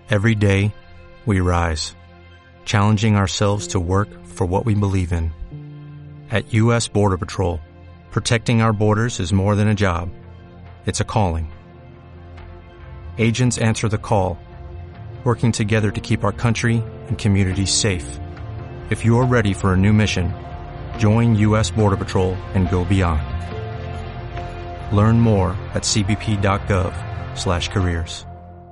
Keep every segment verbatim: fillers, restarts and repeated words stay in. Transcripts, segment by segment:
Every day, we rise, challenging ourselves to work for what we believe in. At U S Border Patrol, protecting our borders is more than a job. It's a calling. Agents answer the call, working together to keep our country and communities safe. If you are ready for a new mission, join U S Border Patrol and go beyond. Learn more at c b p dot gov slash careers.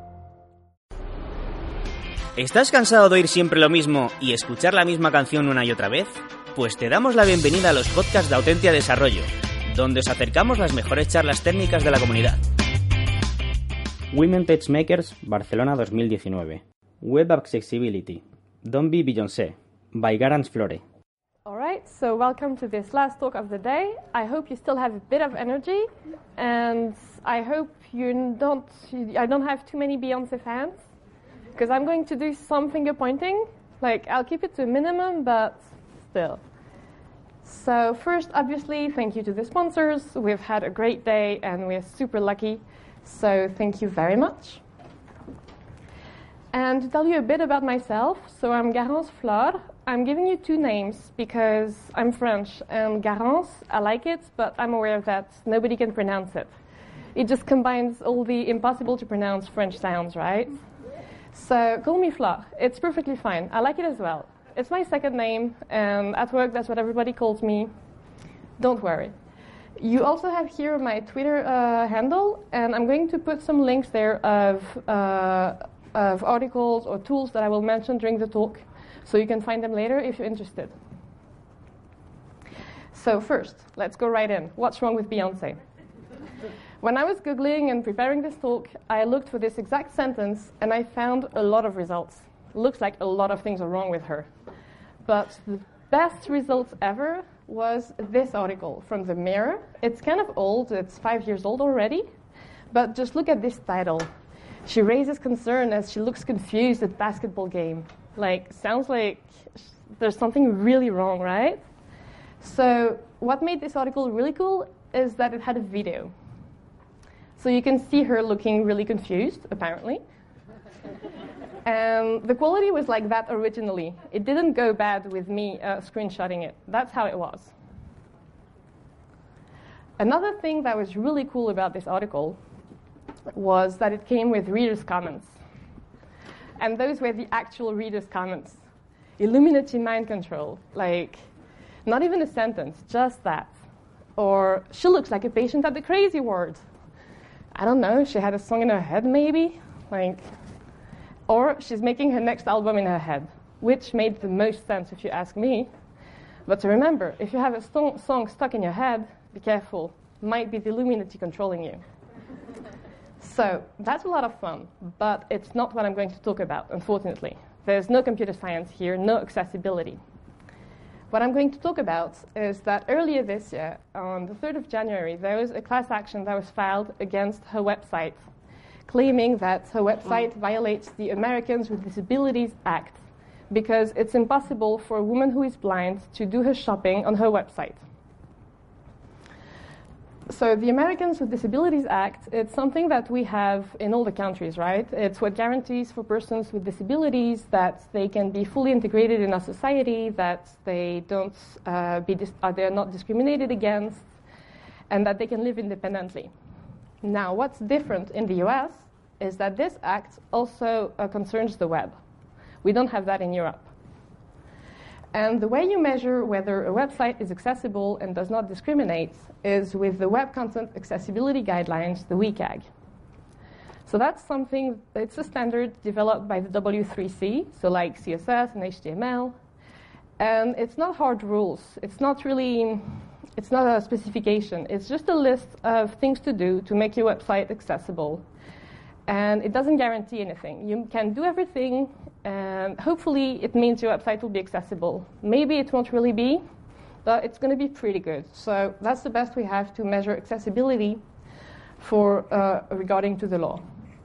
¿Estás cansado de oír siempre lo mismo y escuchar la misma canción una y otra vez? Pues te damos la bienvenida a los podcasts de Autentia Desarrollo, donde os acercamos las mejores charlas técnicas de la comunidad. Women Tech Makers Barcelona dos mil diecinueve. Web Accessibility. Don't be Beyoncé, by Garance Flore. Alright, so welcome to this last talk of the day. I hope you still have a bit of energy, and I hope you don't, I don't have too many Beyoncé fans, because I'm going to do some finger pointing. Like, I'll keep it to a minimum, but still. So first, obviously, thank you to the sponsors. We've had a great day, and we're super lucky. So thank you very much. And to tell you a bit about myself, so I'm Garance Flore. I'm giving you two names because I'm French, and Garance, I like it, but I'm aware that nobody can pronounce it. It just combines all the impossible to pronounce French sounds, right? So call me Flore. It's perfectly fine. I like it as well. It's my second name, and at work that's what everybody calls me. Don't worry. You also have here my Twitter uh, handle, and I'm going to put some links there of, uh, of articles or tools that I will mention during the talk, so you can find them later if you're interested. So first, let's go right in. What's wrong with Beyoncé? When I was Googling and preparing this talk, I looked for this exact sentence, and I found a lot of results. Looks like a lot of things are wrong with her. But the best results ever was this article from The Mirror. It's kind of old, it's five years old already, but just look at this title. She raises concern as she looks confused at basketball game. Like, sounds like there's something really wrong, right? So what made this article really cool is that it had a video. So you can see her looking really confused, apparently. And the quality was like that originally. It didn't go bad with me uh, screenshotting it. That's how it was. Another thing that was really cool about this article was that it came with readers' comments. And those were the actual readers' comments. Illuminati mind control. Like, not even a sentence, just that. Or, she looks like a patient at the crazy ward. I don't know, she had a song in her head, maybe? Like, or she's making her next album in her head, which made the most sense if you ask me. But to remember, if you have a st- song stuck in your head, be careful. Might be the Illuminati controlling you. So that's a lot of fun, but it's not what I'm going to talk about, unfortunately. There's no computer science here, no accessibility. What I'm going to talk about is that earlier this year, on the third of January, there was a class action that was filed against her website, claiming that her website violates the Americans with Disabilities Act because it's impossible for a woman who is blind to do her shopping on her website. So the Americans with Disabilities Act, it's something that we have in all the countries, right? It's what guarantees for persons with disabilities that they can be fully integrated in our society, that they don't uh, be dis- uh, they're not discriminated against, and that they can live independently. Now, what's different in the U S is that this act also uh, concerns the web. We don't have that in Europe. And the way you measure whether a website is accessible and does not discriminate is with the Web Content Accessibility Guidelines, the W C A G. So that's something, it's a standard developed by the W three C, so like C S S and H T M L. And it's not hard rules. It's not really, it's not a specification. It's just a list of things to do to make your website accessible. And it doesn't guarantee anything. You can do everything, and hopefully it means your website will be accessible. Maybe it won't really be, but it's going to be pretty good. So that's the best we have to measure accessibility for uh, regarding to the law.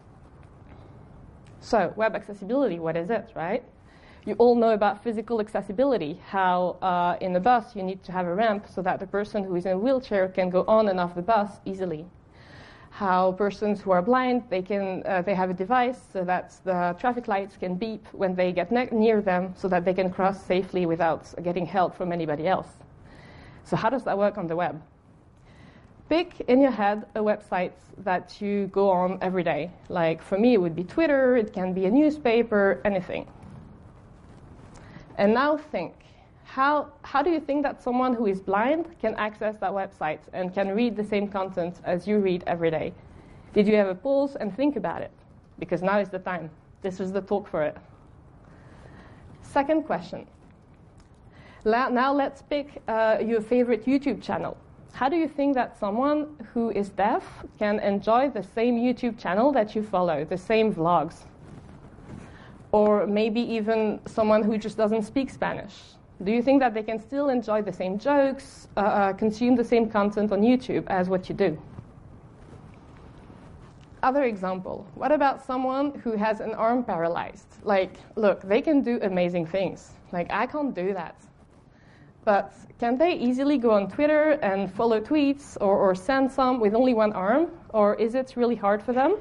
So web accessibility, what is it, right? You all know about physical accessibility, how uh, in a bus you need to have a ramp so that the person who is in a wheelchair can go on and off the bus easily. how persons who are blind, they can uh, they have a device so that the traffic lights can beep when they get ne- near them so that they can cross safely without getting help from anybody else. So how does that work on the web? Pick in your head a website that you go on every day. Like for me, it would be Twitter, it can be a newspaper, anything. And now think, how, how do you think that someone who is blind can access that website and can read the same content as you read every day? Did you ever pause and think about it? Because now is the time. This is the talk for it. Second question. Now let's pick uh, your favorite YouTube channel. How do you think that someone who is deaf can enjoy the same YouTube channel that you follow, the same vlogs? Or maybe even someone who just doesn't speak Spanish. Do you think that they can still enjoy the same jokes, uh, uh, consume the same content on YouTube as what you do? Other example, what about someone who has an arm paralyzed? Like, look, they can do amazing things. Like, I can't do that. But can they easily go on Twitter and follow tweets or, or send some with only one arm? Or is it really hard for them?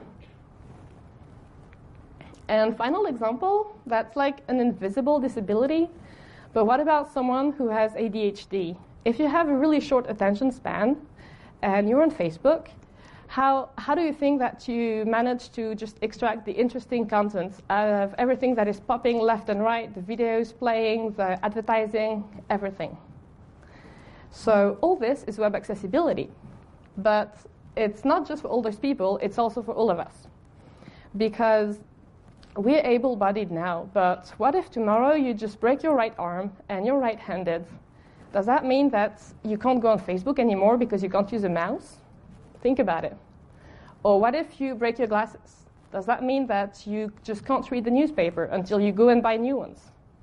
And final example, that's like an invisible disability. But what about someone who has A D H D? If you have a really short attention span and you're on Facebook, how, how do you think that you manage to just extract the interesting content out of everything that is popping left and right, the videos playing, the advertising, everything? So all this is web accessibility. But it's not just for all those people, it's also for all of us. Because we're able-bodied now, but what if tomorrow you just break your right arm and you're right-handed? Does that mean that you can't go on Facebook anymore because you can't use a mouse? Think about it. Or what if you break your glasses? Does that mean that you just can't read the newspaper until you go and buy new ones?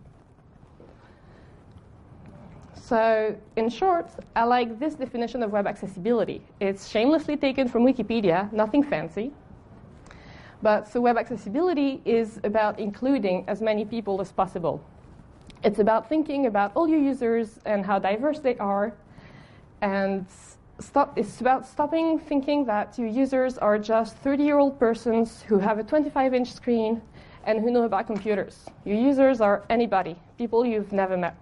So, in short, I like this definition of web accessibility. It's shamelessly taken from Wikipedia, nothing fancy. But so web accessibility is about including as many people as possible. It's about thinking about all your users and how diverse they are. And stop, it's about stopping thinking that your users are just thirty-year-old persons who have a twenty-five inch screen and who know about computers. Your users are anybody, people you've never met.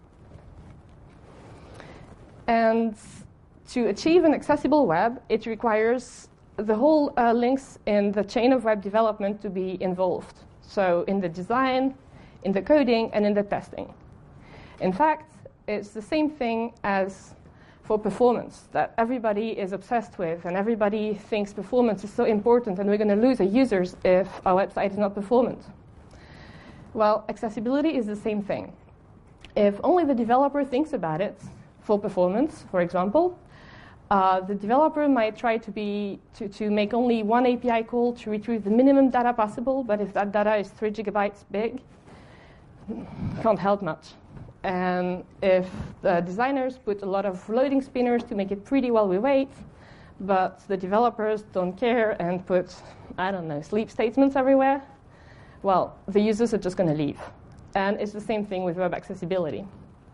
And to achieve an accessible web, it requires the whole uh, links in the chain of web development to be involved. So in the design, in the coding, and in the testing. In fact, it's the same thing as for performance that everybody is obsessed with, and everybody thinks performance is so important, and we're going to lose our users if our website is not performant. Well, accessibility is the same thing. If only the developer thinks about it for performance, for example, Uh, the developer might try to, be, to, to make only one A P I call to retrieve the minimum data possible, but if that data is three gigabytes big, can't help much. And if the designers put a lot of loading spinners to make it pretty while we wait, but the developers don't care and put, I don't know, sleep statements everywhere, well, the users are just going to leave. And it's the same thing with web accessibility.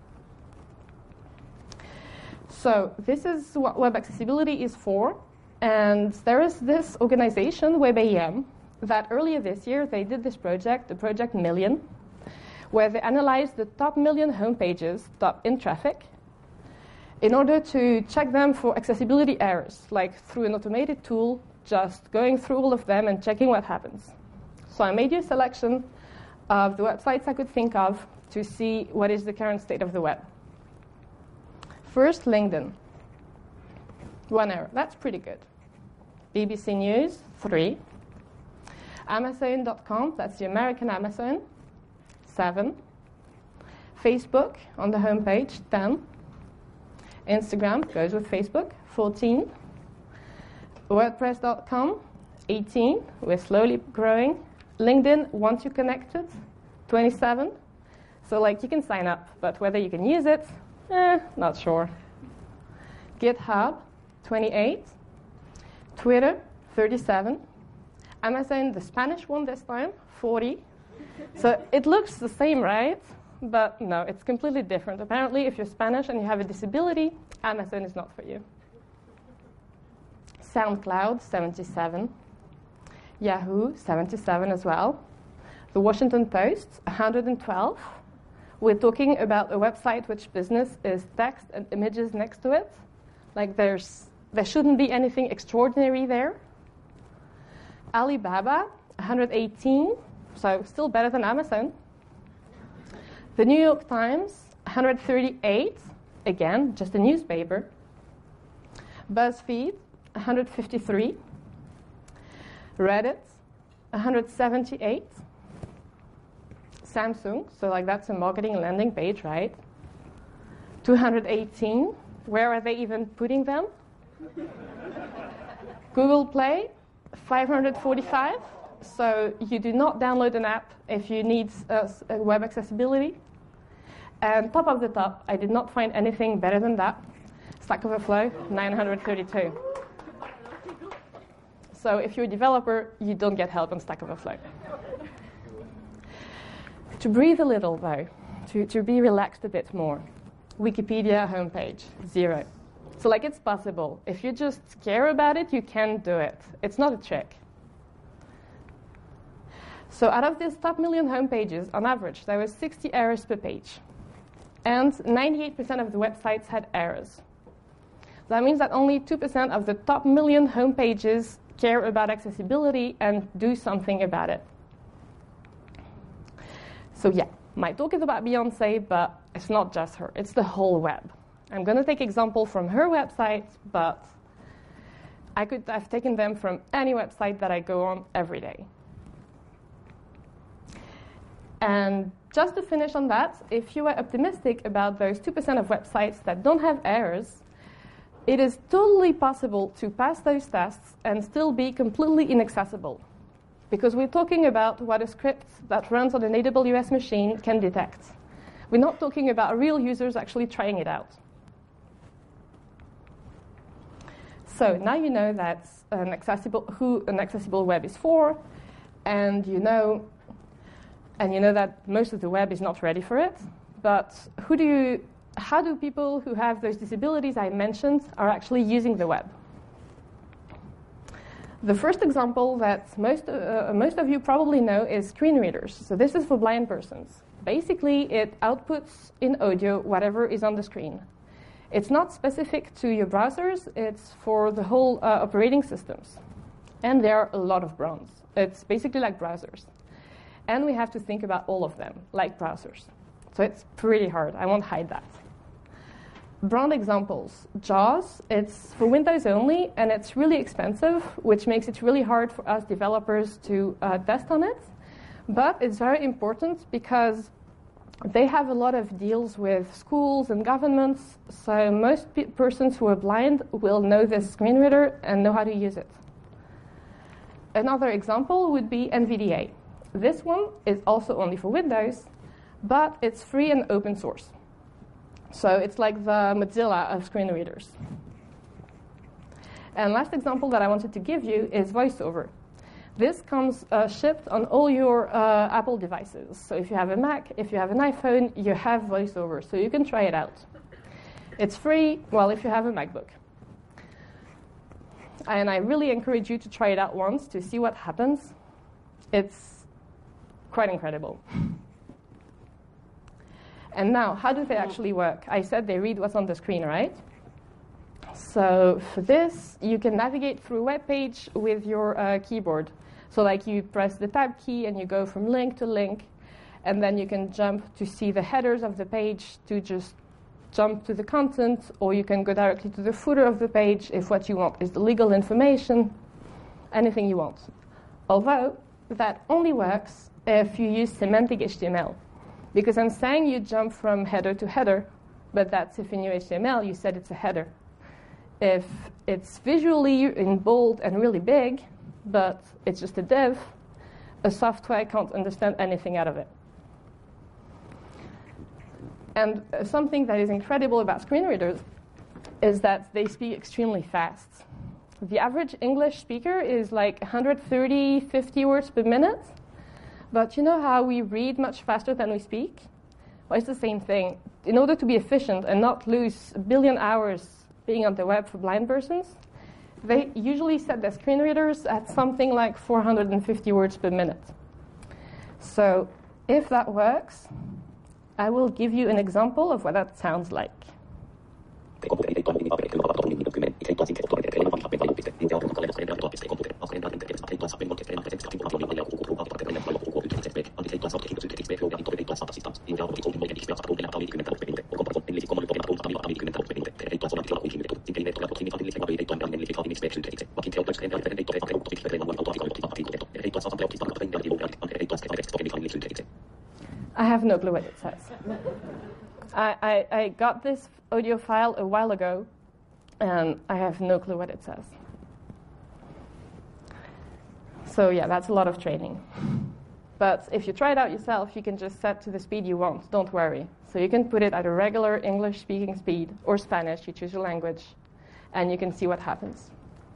So this is what web accessibility is for. And there is this organization, WebAEM, that earlier this year they did this project, the Project Million, where they analyzed the top million homepages, top in traffic, in order to check them for accessibility errors, like through an automated tool, just going through all of them and checking what happens. So I made you a selection of the websites I could think of to see what is the current state of the web. First, LinkedIn. One error. That's pretty good. B B C News, three. Amazon dot com, that's the American Amazon, seven. Facebook, on the homepage, ten. Instagram, goes with Facebook, fourteen. WordPress dot com, eighteen. We're slowly growing. LinkedIn, once you're connected, twenty-seven. So, like, you can sign up, but whether you can use it, Eh, not sure. GitHub, twenty-eight. Twitter, thirty-seven. Amazon, the Spanish one this time, forty. So it looks the same, right? But no, it's completely different. Apparently, if you're Spanish and you have a disability, Amazon is not for you. SoundCloud, seventy-seven. Yahoo, seventy-seven as well. The Washington Post, one hundred twelve. We're talking about a website which business is text and images next to it. Like there's, there shouldn't be anything extraordinary there. Alibaba, one hundred eighteen, so still better than Amazon. The New York Times, one hundred thirty-eight, again, just a newspaper. BuzzFeed, one hundred fifty-three. Reddit, one hundred seventy-eight. Samsung, so like that's a marketing landing page, right? two hundred eighteen. Where are they even putting them? Google Play, five hundred forty-five. So you do not download an app if you need uh, web accessibility. And top of the top, I did not find anything better than that. Stack Overflow, nine hundred thirty-two. So if you're a developer, you don't get help on Stack Overflow. To breathe a little, though, to, to be relaxed a bit more, Wikipedia homepage, zero. So like it's possible. If you just care about it, you can do it. It's not a trick. So out of these top million homepages, on average, there was sixty errors per page. And ninety-eight percent of the websites had errors. That means that only two percent of the top million homepages care about accessibility and do something about it. So yeah, my talk is about Beyoncé, but it's not just her. It's the whole web. I'm going to take example from her website, but I could have taken them from any website that I go on every day. And just to finish on that, if you are optimistic about those two percent of websites that don't have errors, it is totally possible to pass those tests and still be completely inaccessible. Because we're talking about what a script that runs on an A W S machine can detect. We're not talking about real users actually trying it out. So now you know that an accessible, who an accessible web is for, and you know, and you know that most of the web is not ready for it. But who do you, how do people who have those disabilities I mentioned are actually using the web? The first example that most, uh, most of you probably know is screen readers. So this is for blind persons. Basically, it outputs in audio whatever is on the screen. It's not specific to your browsers. It's for the whole uh, operating systems. And there are a lot of brands. It's basically like browsers. And we have to think about all of them, like browsers. So it's pretty hard. I won't hide that. Brand examples. JAWS, it's for Windows only, and it's really expensive, which makes it really hard for us developers to uh, test on it. But it's very important because they have a lot of deals with schools and governments, so most pe- persons who are blind will know this screen reader and know how to use it. Another example would be N V D A. This one is also only for Windows, but it's free and open source. So it's like the Mozilla of screen readers. And last example that I wanted to give you is VoiceOver. This comes uh, shipped on all your uh, Apple devices. So if you have a Mac, if you have an iPhone, you have VoiceOver. So you can try it out. It's free, well, if you have a MacBook. And I really encourage you to try it out once to see what happens. It's quite incredible. And now, how do they actually work? I said they read what's on the screen, right? So for this, you can navigate through a web page with your uh, keyboard. So like you press the tab key and you go from link to link, and then you can jump to see the headers of the page to just jump to the content, or you can go directly to the footer of the page if what you want is the legal information, anything you want. Although that only works if you use semantic H T M L. Because I'm saying you jump from header to header, but that's if in your H T M L you said it's a header. If it's visually in bold and really big, but it's just a div, a software can't understand anything out of it. And uh, something that is incredible about screen readers is that they speak extremely fast. The average English speaker is like one hundred thirty, fifty words per minute. But you know how we read much faster than we speak? Well, it's the same thing. In order to be efficient and not lose a billion hours being on the web for blind persons, they usually set their screen readers at something like four hundred fifty words per minute. So if that works, I will give you an example of what that sounds like. I have no clue what it says. I, I, I got this audio file a while ago, and I have no clue what it says. So yeah, that's a lot of training. But if you try it out yourself, you can just set to the speed you want, don't worry. So you can put it at a regular English-speaking speed, or Spanish, you choose your language, and you can see what happens.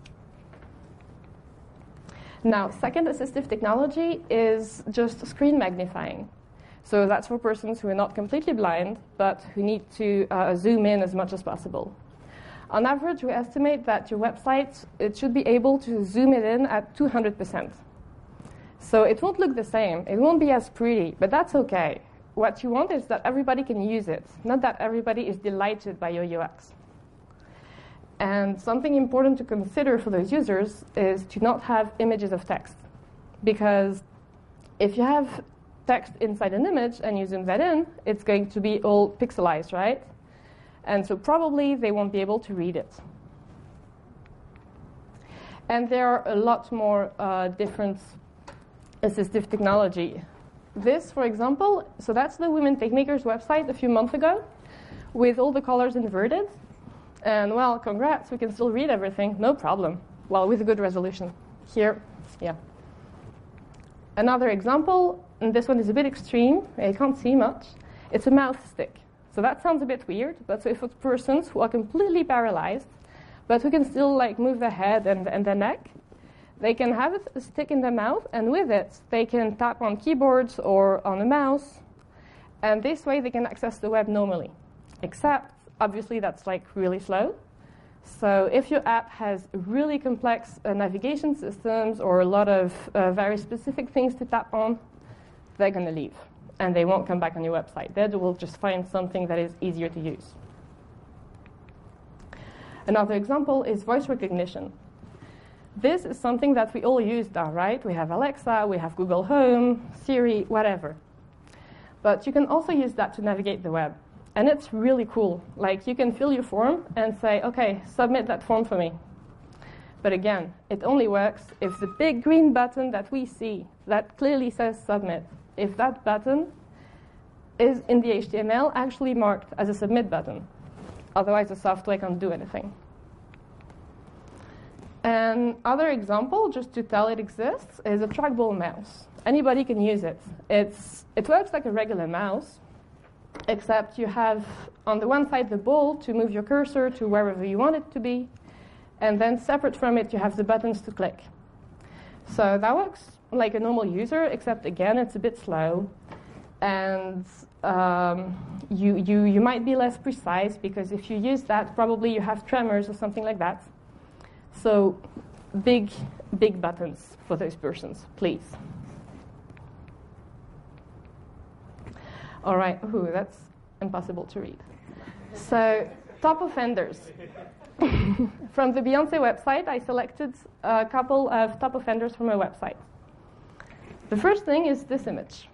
Now, second assistive technology is just screen magnifying. So that's for persons who are not completely blind, but who need to uh, zoom in as much as possible. On average, we estimate that your website, it should be able to zoom it in at two hundred percent. So it won't look the same. It won't be as pretty, but that's okay. What you want is that everybody can use it, not that everybody is delighted by your U X. And something important to consider for those users is to not have images of text. Because if you have text inside an image and you zoom that in, it's going to be all pixelized, right? And so probably they won't be able to read it. And there are a lot more uh, different assistive technology. This, for example, so that's the Women TechMakers website a few months ago with all the colors inverted. And, well, congrats, we can still read everything, no problem. Well, with a good resolution. Here, yeah. Another example, and this one is a bit extreme, I can't see much. It's a mouse stick. So that sounds a bit weird, but so if it's persons who are completely paralyzed, but who can still like move their head and, and their neck, they can have a stick in their mouth, and with it, they can tap on keyboards or on a mouse, and this way they can access the web normally. Except, obviously, that's like really slow. So if your app has really complex uh, navigation systems or a lot of uh, very specific things to tap on, they're going to leave. And they won't come back on your website. They will just find something that is easier to use. Another example is voice recognition. This is something that we all use now, right? We have Alexa, we have Google Home, Siri, whatever. But you can also use that to navigate the web. And it's really cool. Like, you can fill your form and say, OK, submit that form for me. But again, it only works if the big green button that we see that clearly says submit, if that button is in the H T M L actually marked as a submit button. Otherwise, the software can't do anything. And other example, just to tell it exists, is a trackball mouse. Anybody can use it. It's, it works like a regular mouse, except you have on the one side the ball to move your cursor to wherever you want it to be, and then separate from it you have the buttons to click. So that works like a normal user, except again it's a bit slow, and um, you, you, you might be less precise, because if you use that, probably you have tremors or something like that. So big, big buttons for those persons, please. All right, ooh, that's impossible to read. So, top offenders. From the Beyoncé website, I selected a couple of top offenders from her website. The first thing is this image.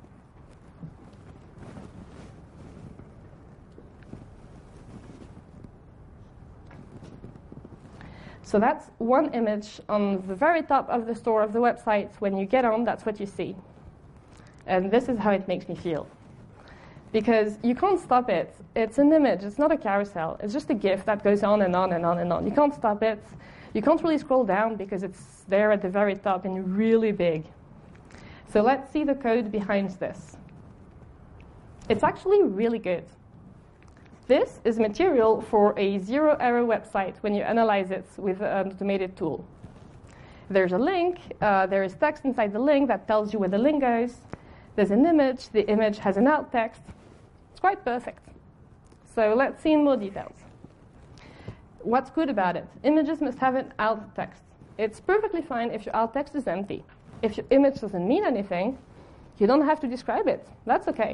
So that's one image on the very top of the store of the website. When you get on, that's what you see. And this is how it makes me feel. Because you can't stop it. It's an image. It's not a carousel. It's just a GIF that goes on and on and on and on. You can't stop it. You can't really scroll down because it's there at the very top and really big. So let's see the code behind this. It's actually really good. This is material for a zero-error website when you analyze it with an automated tool. There's a link. Uh, there is text inside the link that tells you where the link goes. There's an image. The image has an alt text. It's quite perfect. So let's see in more details. What's good about it? Images must have an alt text. It's perfectly fine if your alt text is empty. If your image doesn't mean anything, you don't have to describe it. That's okay.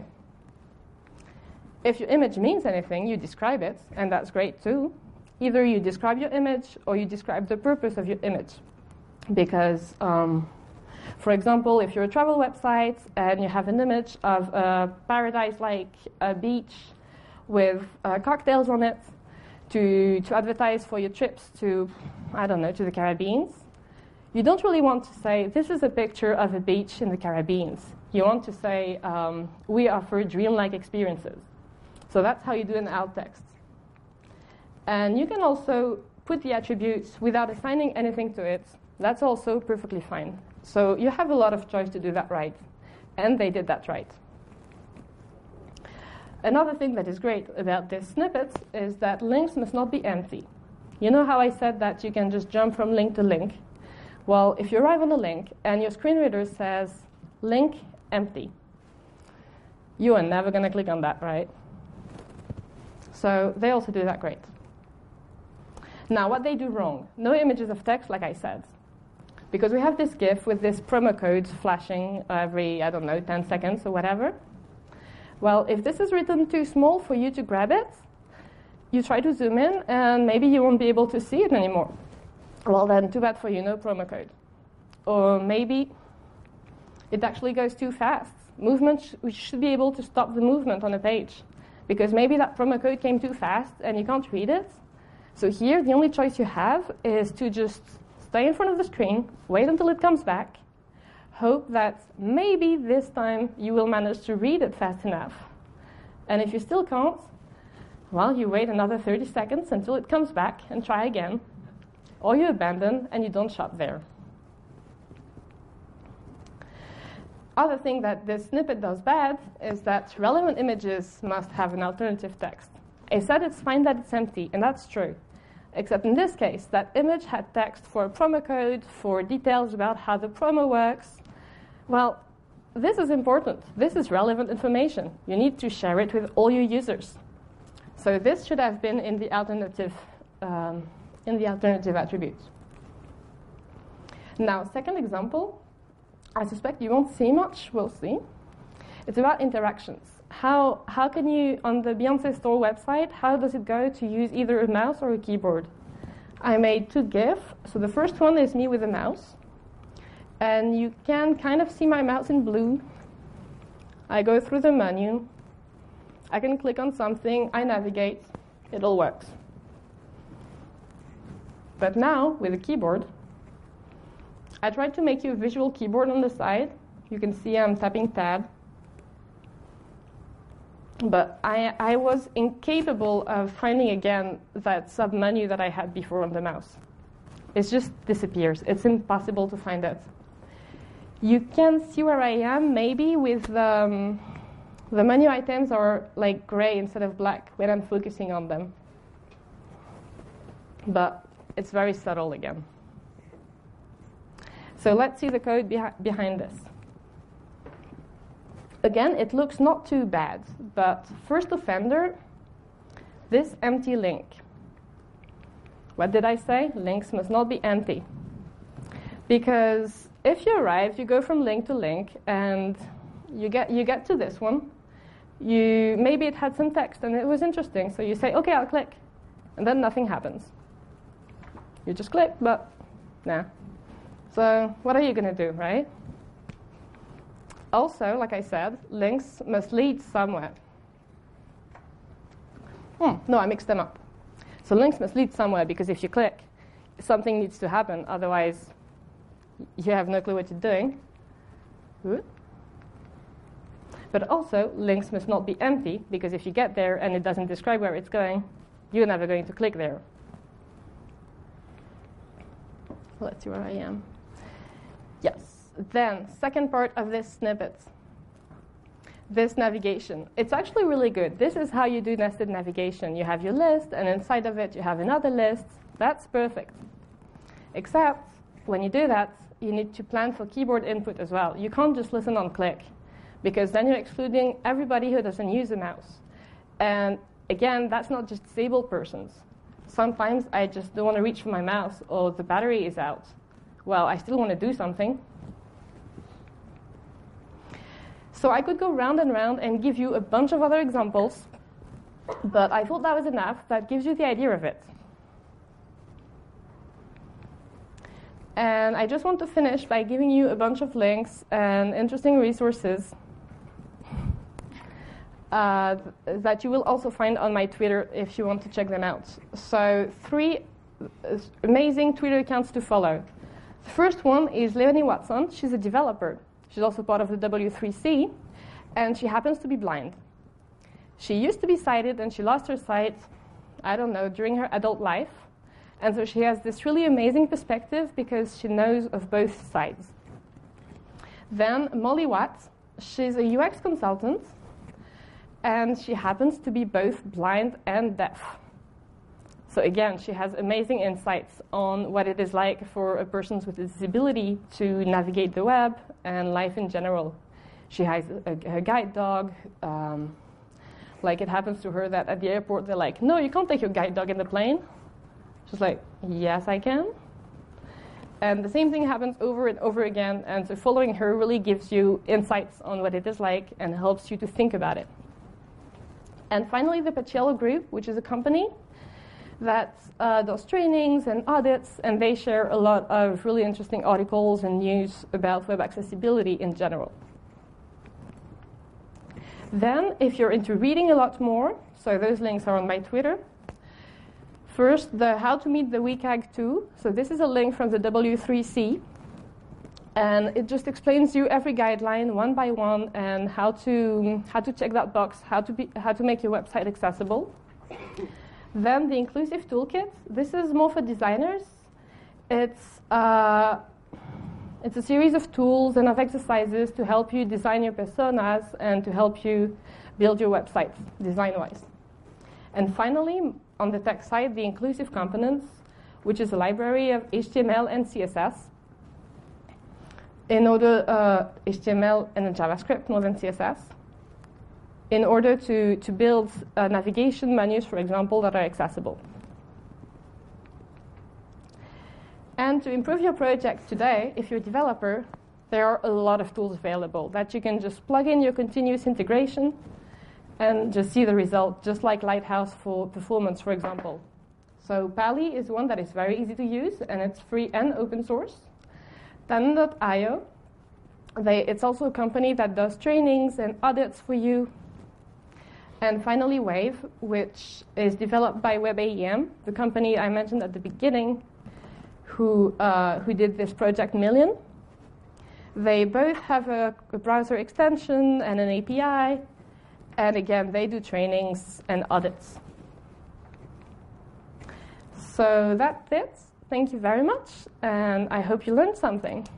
If your image means anything, you describe it, and that's great too. Either you describe your image or you describe the purpose of your image. Because, um, for example, if you're a travel website and you have an image of a paradise like a beach with uh, cocktails on it to, to advertise for your trips to, I don't know, to the Caribbean, you don't really want to say, this is a picture of a beach in the Caribbean. You want to say, um, we offer dreamlike experiences. So that's how you do an alt text. And you can also put the attributes without assigning anything to it. That's also perfectly fine. So you have a lot of choice to do that right. And they did that right. Another thing that is great about this snippet is that links must not be empty. You know how I said that you can just jump from link to link? Well, if you arrive on a link and your screen reader says link empty, you are never going to click on that, right? So they also do that great. Now, what they do wrong, no images of text, like I said. Because we have this GIF with this promo code flashing every, I don't know, ten seconds or whatever. Well, if this is written too small for you to grab it, you try to zoom in, and maybe you won't be able to see it anymore. Well, then, too bad for you, no promo code. Or maybe it actually goes too fast. Movement, sh- we should be able to stop the movement on a page. Because maybe that promo code came too fast, and you can't read it. So here, the only choice you have is to just stay in front of the screen, wait until it comes back, hope that maybe this time you will manage to read it fast enough. And if you still can't, well, you wait another thirty seconds until it comes back and try again. Or you abandon and you don't shop there. Other thing that this snippet does bad is that relevant images must have an alternative text. I said it's fine that it's empty, and that's true. Except in this case, that image had text for a promo code, for details about how the promo works. Well, this is important. This is relevant information. You need to share it with all your users. So this should have been in the alternative, um, in the alternative attributes. Now, second example, I suspect you won't see much. We'll see. It's about interactions. How, how can you, on the Beyonce Store website, how does it go to use either a mouse or a keyboard? I made two GIFs. So the first one is me with a mouse. And you can kind of see my mouse in blue. I go through the menu. I can click on something. I navigate. It all works. But now, with a keyboard, I tried to make you a visual keyboard on the side. You can see I'm tapping tab. But I, I was incapable of finding again that sub-menu that I had before on the mouse. It just disappears. It's impossible to find it. You can see where I am, maybe with the, um, the menu items are like gray instead of black when I'm focusing on them. But it's very subtle again. So let's see the code behi- behind this. Again, it looks not too bad, but first offender, this empty link. What did I say? Links must not be empty. Because if you arrive, you go from link to link, and you get you get to this one. You maybe it had some text and it was interesting, so you say, okay, I'll click, and then nothing happens. You just click, but nah. So what are you going to do, right? Also, like I said, links must lead somewhere. Hmm, no, I mixed them up. So links must lead somewhere, because if you click, something needs to happen. Otherwise, you have no clue what you're doing. Good. But also, links must not be empty, because if you get there and it doesn't describe where it's going, you're never going to click there. Let's see where I am. Yes. Then, second part of this snippet, this navigation. It's actually really good. This is how you do nested navigation. You have your list, and inside of it, you have another list. That's perfect. Except, when you do that, you need to plan for keyboard input as well. You can't just listen on click, because then you're excluding everybody who doesn't use a mouse. And again, that's not just disabled persons. sometimes I just don't want to reach for my mouse or the battery is out. Well, I still want to do something. So I could go round and round and give you a bunch of other examples, but I thought that was enough. That gives you the idea of it. And I just want to finish by giving you a bunch of links and interesting resources uh, th- that you will also find on my Twitter if you want to check them out. So three amazing Twitter accounts to follow. The first one is Leonie Watson. She's a developer. She's also part of the W three C, and she happens to be blind. She used to be sighted, and she lost her sight, I don't know, during her adult life. And so she has this really amazing perspective because she knows of both sides. Then Molly Watt, she's a U X consultant, and she happens to be both blind and deaf. So again, she has amazing insights on what it is like for a person with a disability to navigate the web and life in general. She has a, a guide dog. Um, like it happens to her that at the airport they're like, no, you can't take your guide dog in the plane. She's like, yes, I can. And the same thing happens over and over again. And so following her really gives you insights on what it is like and helps you to think about it. And finally, the Paciello Group, which is a company that uh, does trainings and audits, and they share a lot of really interesting articles and news about web accessibility in general. Then, if you're into reading a lot more, so those links are on my Twitter. First, the How to Meet the W C A G two. So this is a link from the W three C, and it just explains you every guideline one by one and how to how to check that box, how to be how to make your website accessible. Then the Inclusive Toolkit. This is more for designers. It's uh, it's a series of tools and of exercises to help you design your personas and to help you build your website design-wise. And finally, on the tech side, the Inclusive Components, which is a library of H T M L and C S S. In order, uh, H T M L and JavaScript more than C S S. In order to, to build uh, navigation menus, for example, that are accessible. And to improve your project today, if you're a developer, there are a lot of tools available that you can just plug in your continuous integration and just see the result, just like Lighthouse for performance, for example. So Pali is one that is very easy to use, and it's free and open source. Tandem dot i o, they, it's also a company that does trainings and audits for you. And finally, Wave, which is developed by WebAEM, the company I mentioned at the beginning, who, uh, who did this Project Million. They both have a, a browser extension and an A P I. And again, they do trainings and audits. So that's it. Thank you very much. And I hope you learned something.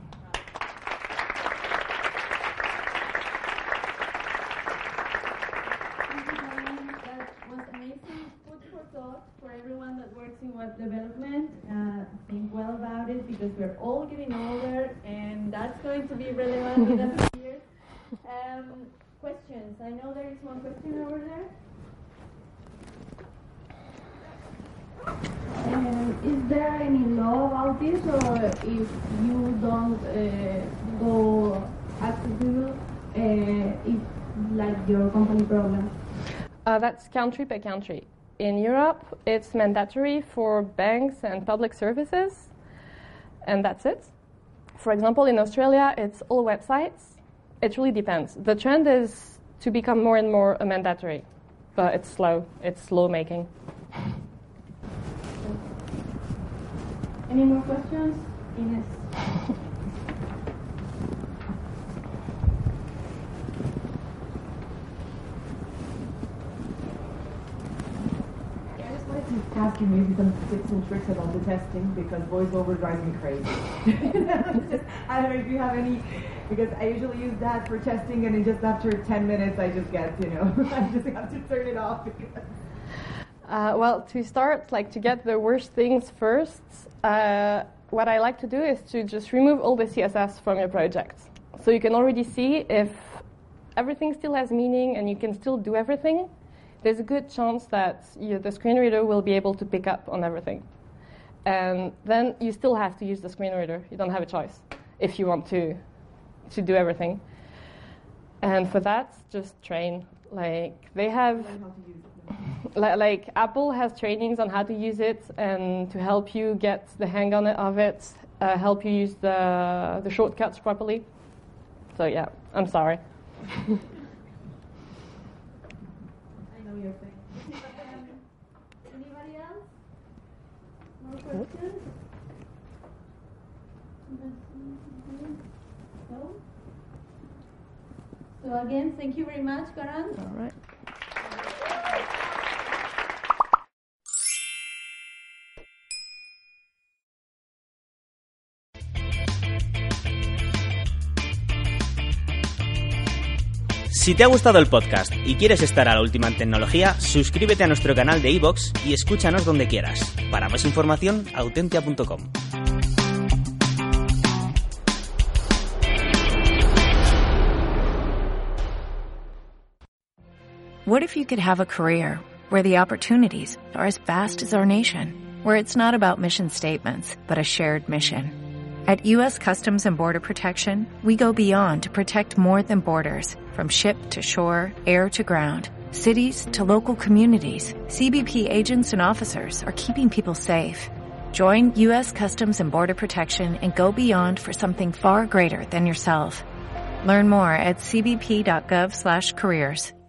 Web development, uh, think well about it because we're all getting older and that's going to be relevant in a few years. Um, questions? I know there is one question over there. Um, is there any law about this, or if you don't uh, go accessible, uh, it's like your company problem? Uh, that's country by country. In Europe, it's mandatory for banks and public services, and that's it. For example, in Australia, it's all websites. It really depends. The trend is to become more and more mandatory, but it's slow. It's slow making. Any more questions? Ines. Ask you maybe some tips and tricks about the testing, because voiceover drives me crazy. Just, I don't know if you have any, because I usually use that for testing, and then just after ten minutes, I just get, you know, I just have to turn it off. Uh, well, to start, like to get the worst things first, uh, what I like to do is to just remove all the C S S from your project. So you can already see if everything still has meaning and you can still do everything. there's a good chance that you, the screen reader will be able to pick up on everything. And then you still have to use the screen reader. You don't have a choice if you want to to do everything. And for that, just train. Like they have, li- like Apple has trainings on how to use it and to help you get the hang on it of it, uh, help you use the the shortcuts properly. So yeah, I'm sorry. I know your thing. um, anybody else? More questions? No? So again, thank you very much, Karan. All right. Si te ha gustado el podcast y quieres estar a la última en tecnología, suscríbete a nuestro canal de iVoox y escúchanos donde quieras. Para más información, autentia punto com. What if you could have a career where the opportunities are as vast as our nation, where it's not about mission statements, but a shared mission? At U S Customs and Border Protection, we go beyond to protect more than borders. From ship to shore, air to ground, cities to local communities, C B P agents and officers are keeping people safe. Join U S Customs and Border Protection and go beyond for something far greater than yourself. Learn more at c b p dot gov slash careers.